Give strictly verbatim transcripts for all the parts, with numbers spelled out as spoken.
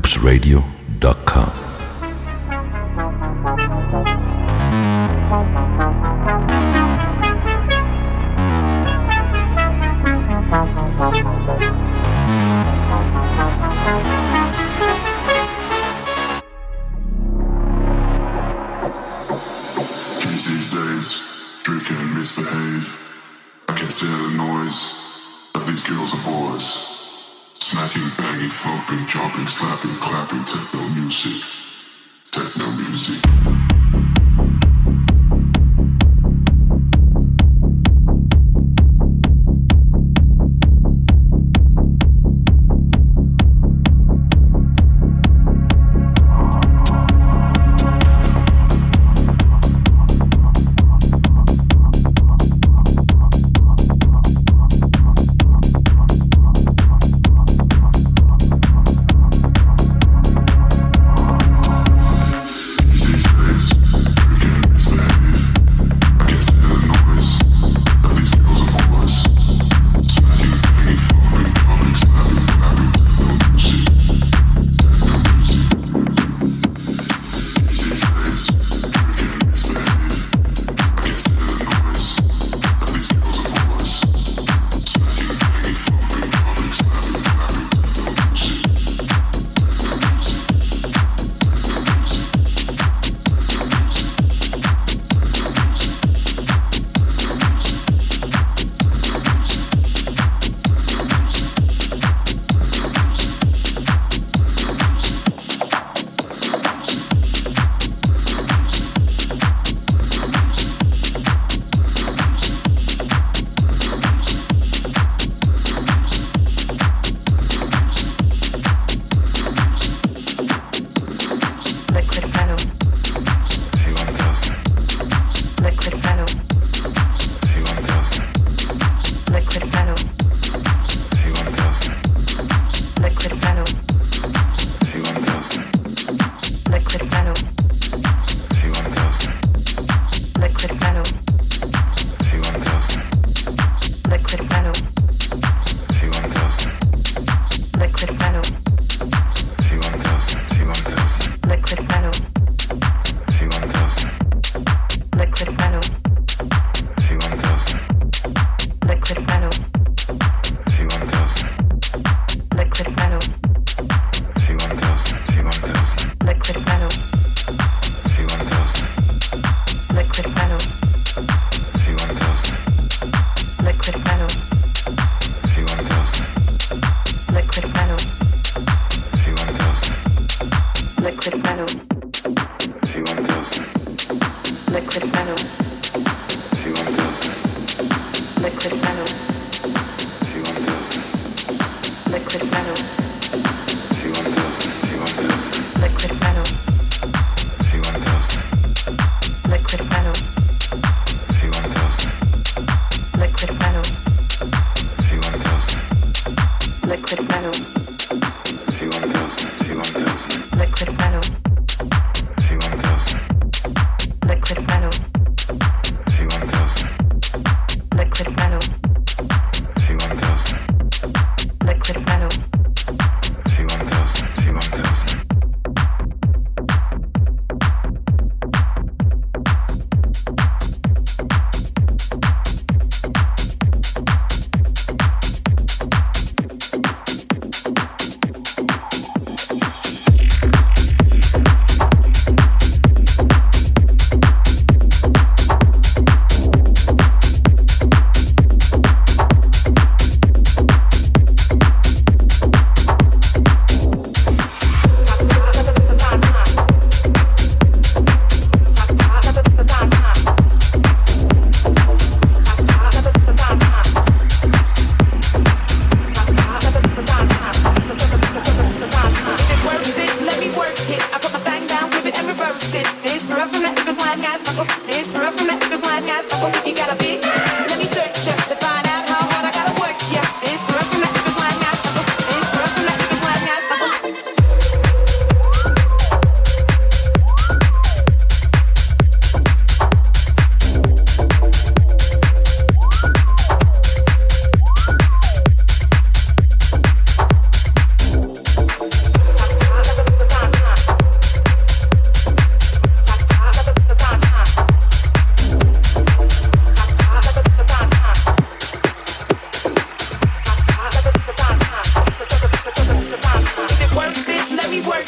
loops radio dot com. These days, drink and misbehave. I can't stand the noise of these girls and boys. Smacking, banging, thumping, jumping, slapping, clapping, techno music. Techno music.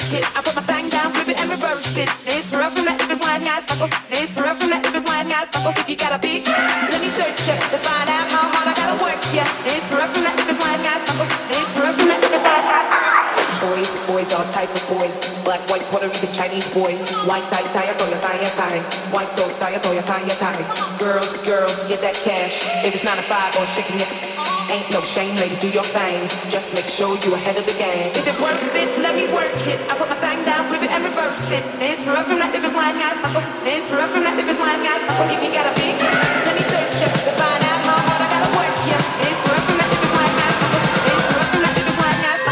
it. I put my thing down, flip it and reverse it. This rough from that if it's wine, guys. This rough from that if it's wine, guys. If you got a beat, let me search it to find out how hard I gotta work. Yeah, this rough from that if it's wine, guys. This rough from that if it's wine, guys. Boys, boys, all type of boys. Black, white, Puerto Rican, Chinese boys. White tie, tie, toya, tie, tie. White toe, tie, toya, tie, tie. Girls, girls, get that cash. If it's nine to five or shaking it, ain't no shame, ladies, do your thing. Just make sure you ahead of the game. Is it worth it? Let me work it. I put my thing down, flip it and reverse it. This rough from that if it's wine, guys. This rough from that if it's wine, guys. If you got a big, let me search it to find out how hard I gotta work. Yeah, this rough from that if it's wine, guys. This rough from that if it's wine, guys.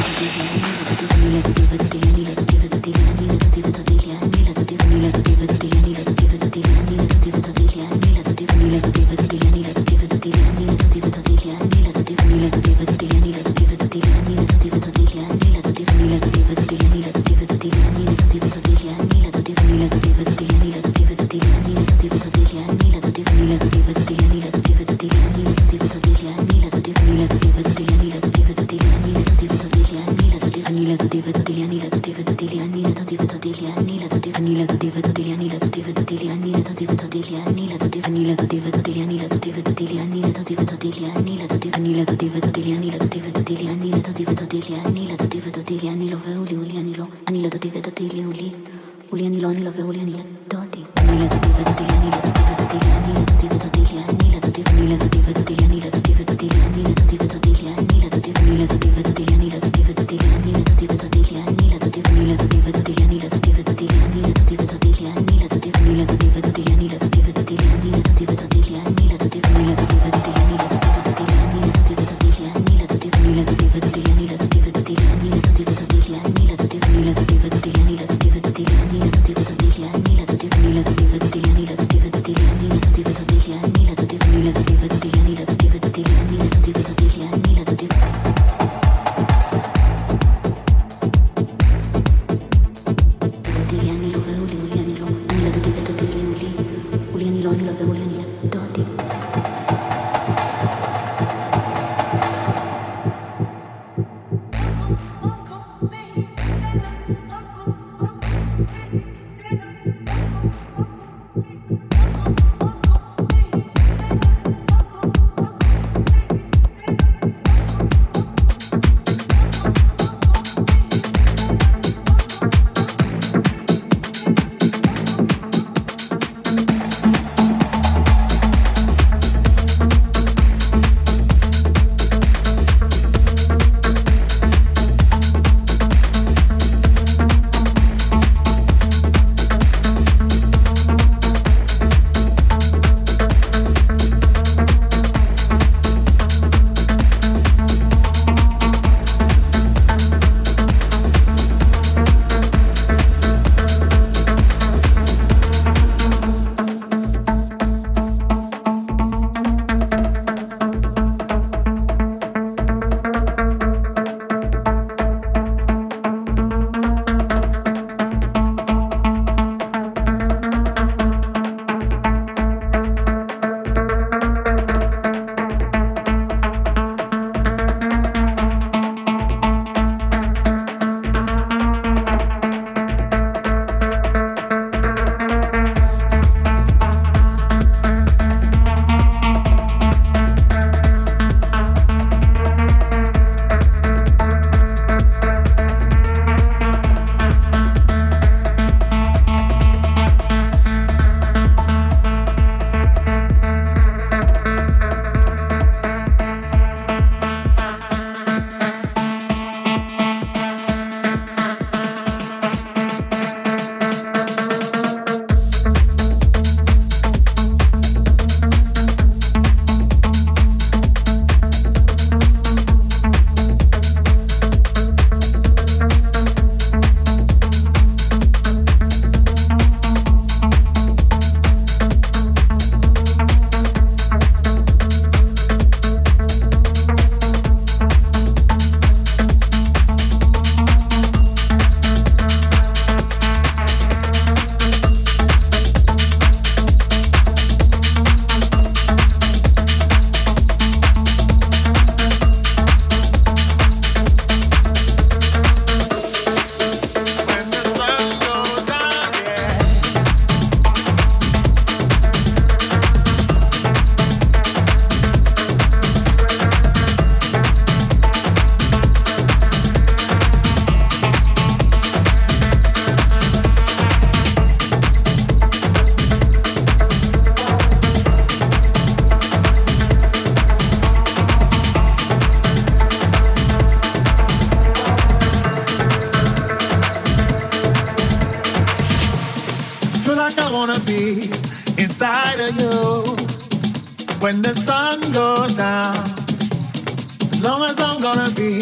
inside of you when the sun goes down. As long as I'm gonna be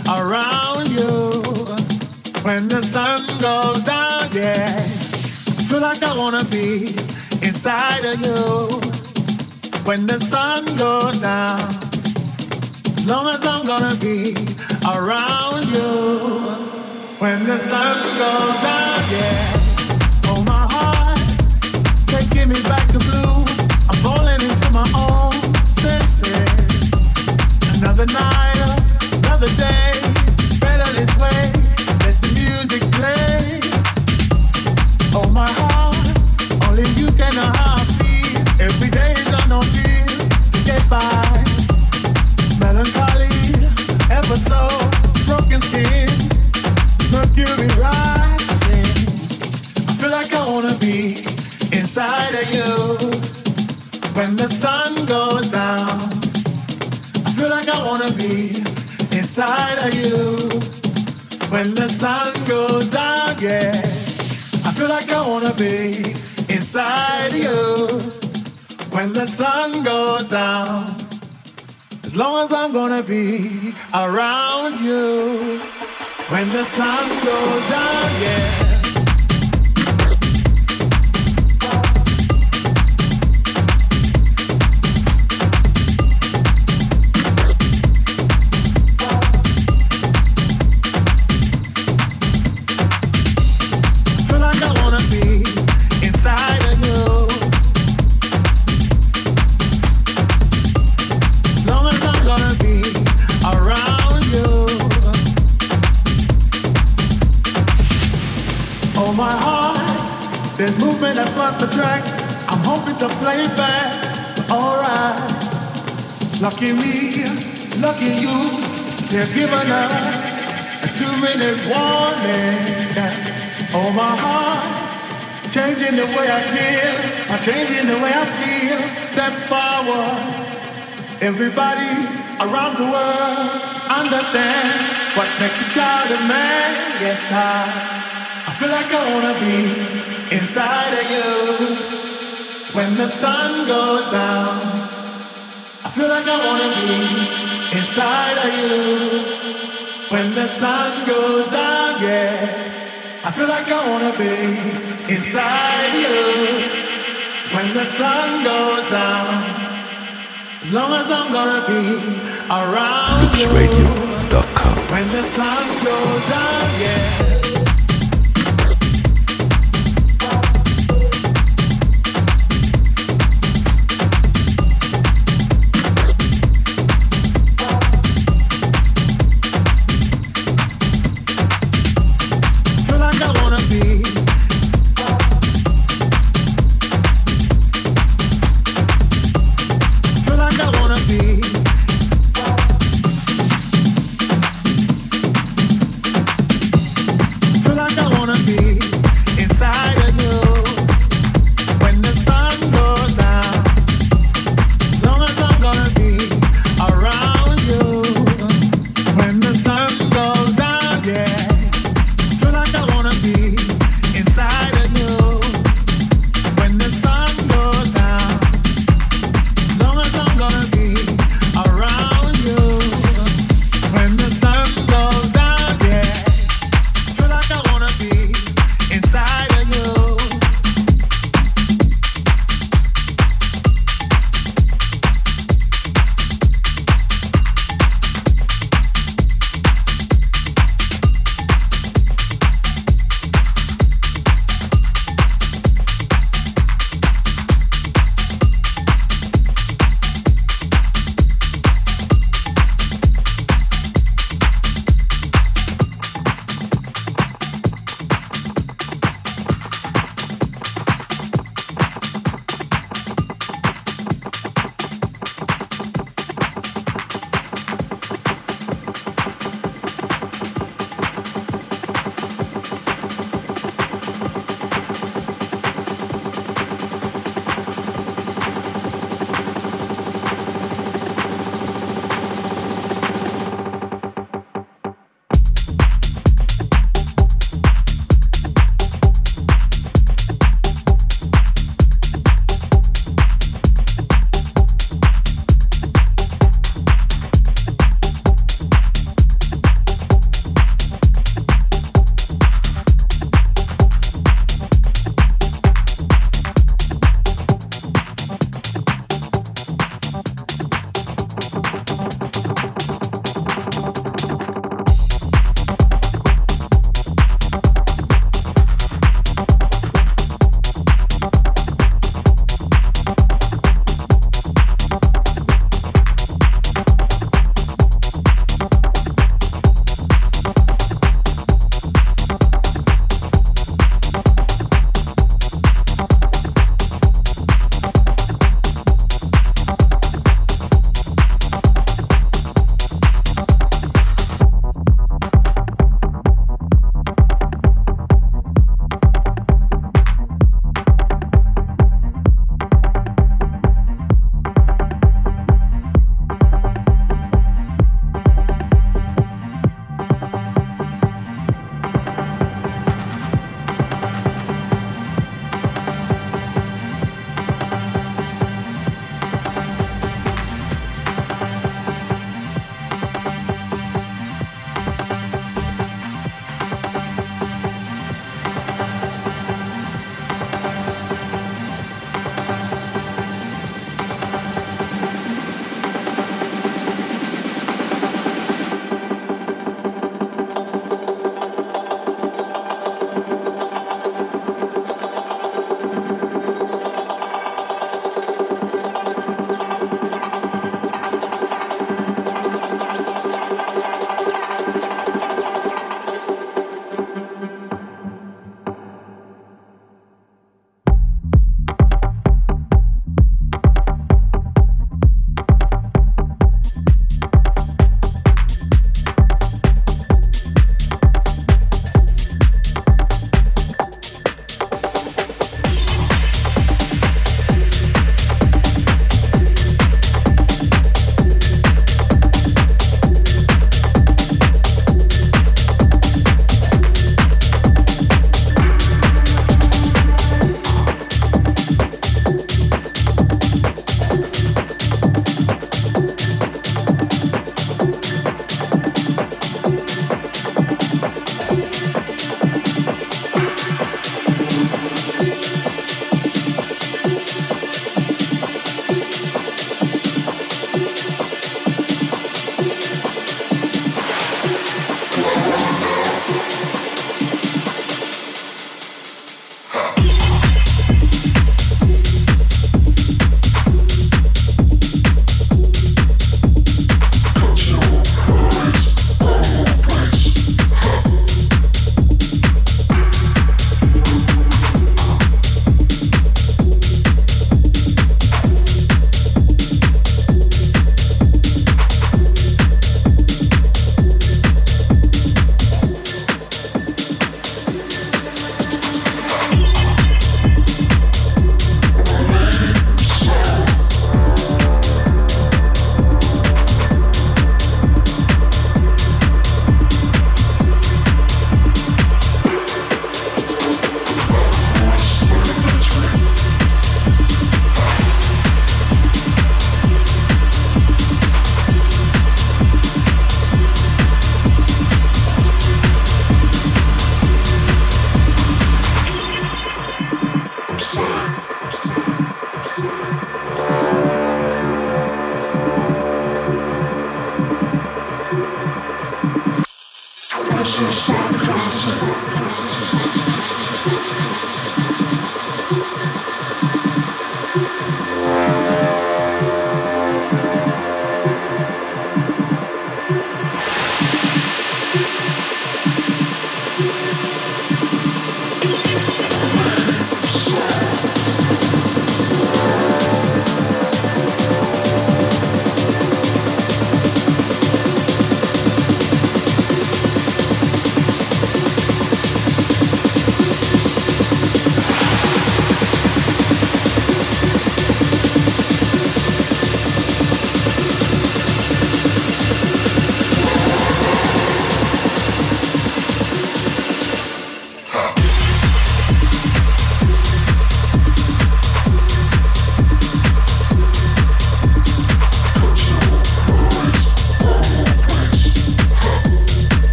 around you. When the sun goes down, yeah, I feel like I wanna be inside of you. When the sun goes down, as long as I'm gonna be around you. When the sun goes down, yeah, oh my heart, taking me back to blue. I'm falling into my own senses. Another night, another day, it's better this way. Let the music play. Oh my heart, only you can know how I feel. Every day is on no feel to get by. Melancholy, ever so broken skin, mercury rising. I feel like I wanna be inside of you. When the sun goes down, I feel like I wanna be inside of you. When the sun goes down, yeah, I feel like I wanna be inside you. When the sun goes down, as long as I'm gonna be around you. When the sun goes down, yeah. There's movement across the tracks. I'm hoping to play back. Alright. Lucky me, lucky you. They've given us a two-minute warning. Oh my heart, changing the way I feel. I'm changing the way I feel. Step forward. Everybody around the world understand what makes a child a man. Yes, I, I feel like I wanna be inside of you. When the sun goes down, I feel like I wanna be inside of you. When the sun goes down, yeah, I feel like I wanna be inside you. When the sun goes down, as long as I'm gonna be around loops radio dot com. you. When the sun goes down, yeah.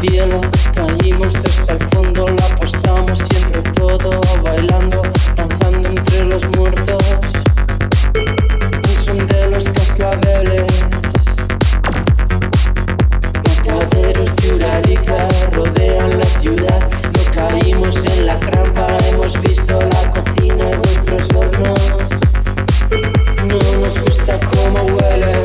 cielo, caímos hasta el fondo, lo apostamos siempre todo, bailando, danzando entre los muertos, al son de los cascabeles. Mataderos de Urarica rodean la ciudad, no caímos en la trampa, hemos visto la cocina de vuestros hornos, no nos gusta cómo huelen.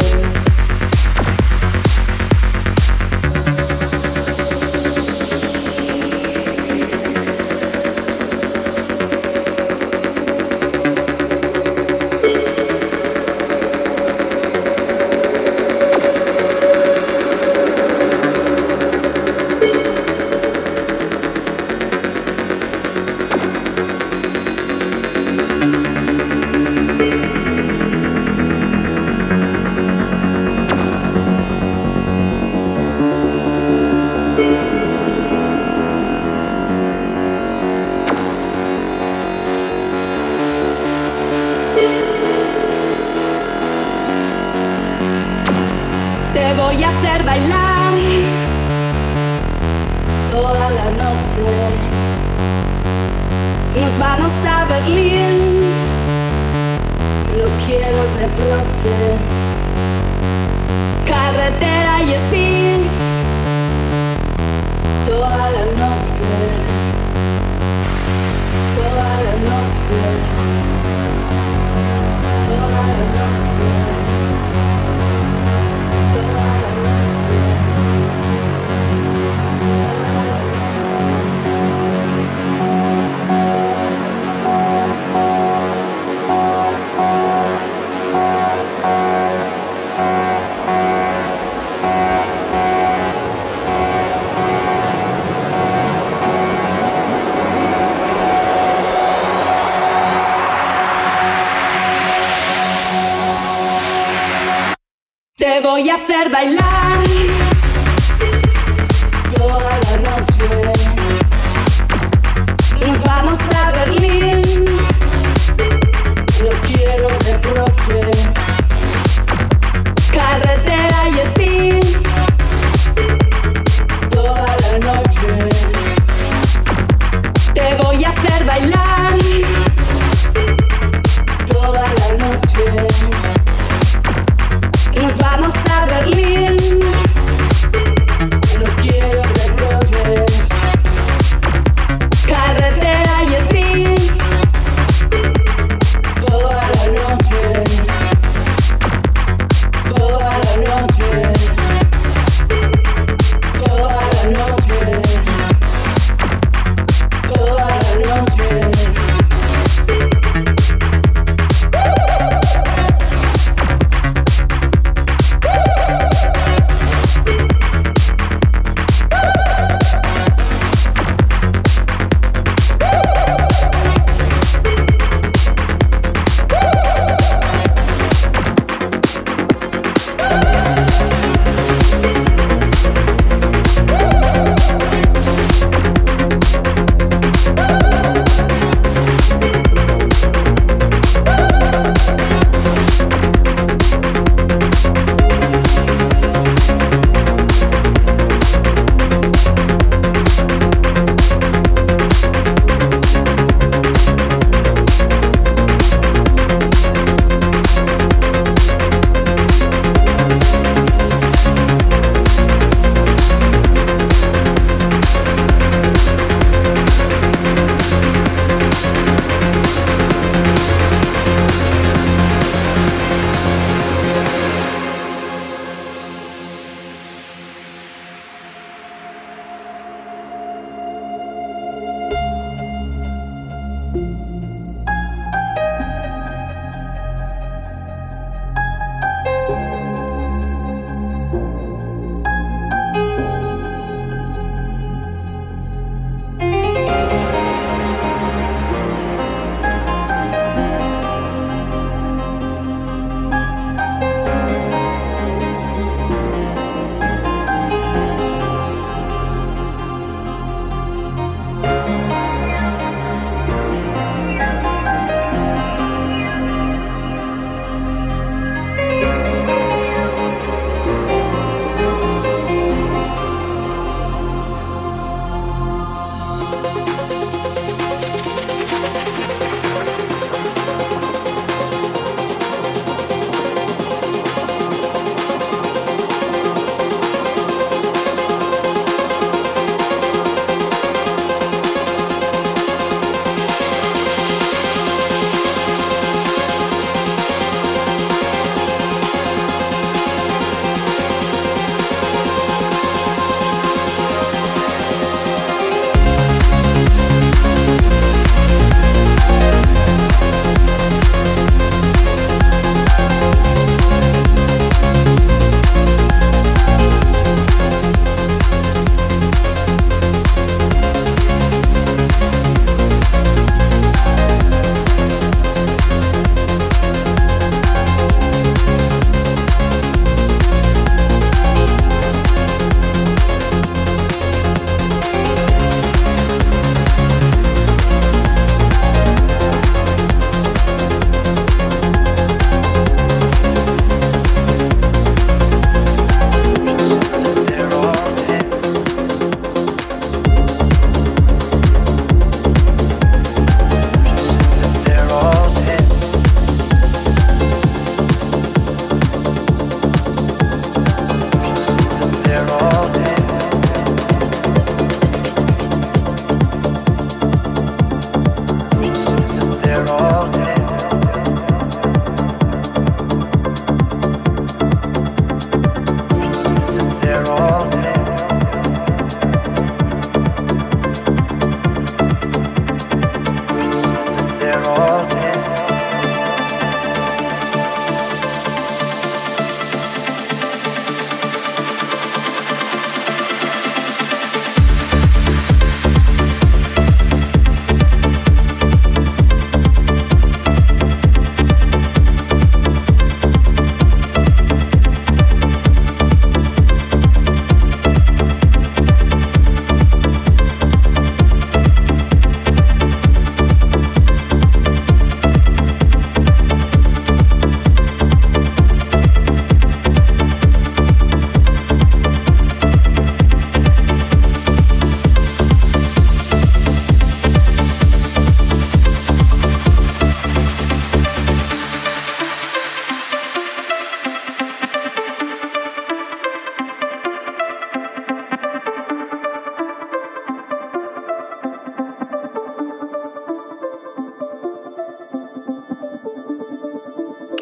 Te voy a hacer bailar toda la noche. Nos vamos a Berlín, no quiero reproches. Carretera y speed toda la noche, toda la noche, toda la noche. Te voy a hacer bailar toda la noche. Nos vamos a Berlín, no quiero reproches. Carretera y speed toda la noche. Te voy a hacer bailar toda la noche. Nos vamos a Berlín,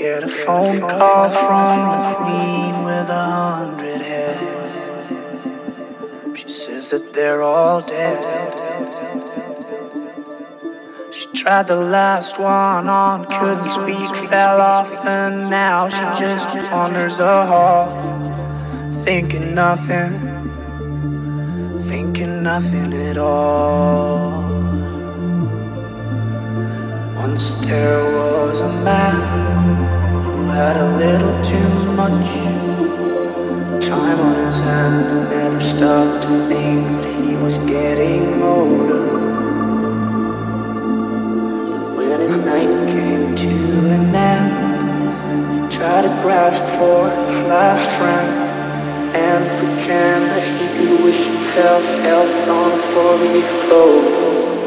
Get a phone call from the queen with a hundred heads. She says that they're all dead. She tried the last one on, couldn't speak, fell off, and now she just wanders a hall, thinking nothing, thinking nothing at all. Once there was a man who had a little too much time on his hand and never stopped to think that he was getting older. When his night came to an end, he tried to grasp for his last friend and pretend that he could wish himself health on a four-leaf clover.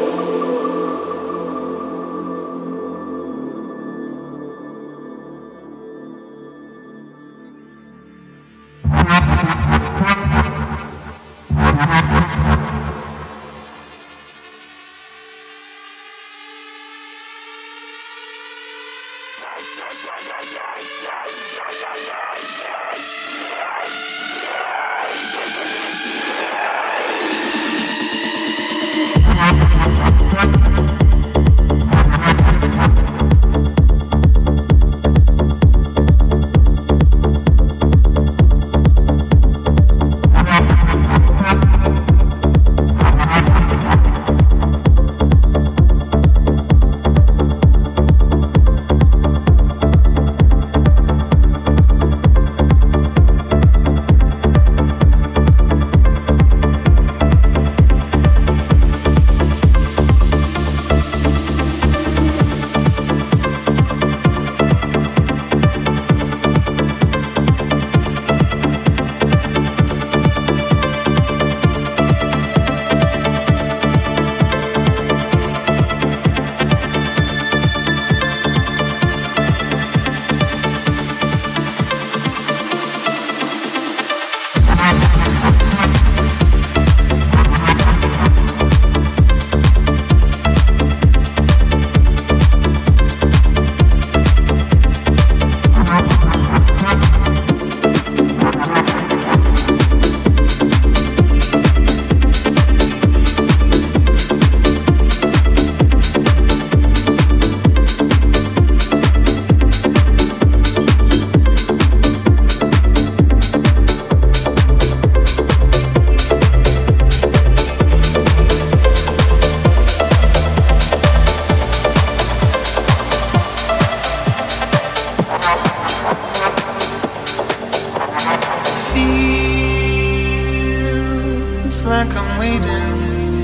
Like I'm waiting,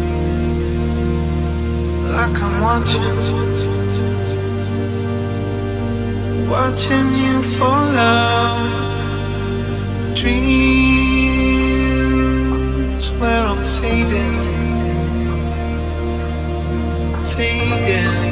like I'm watching, watching you fall out. Dreams where I'm fading, fading.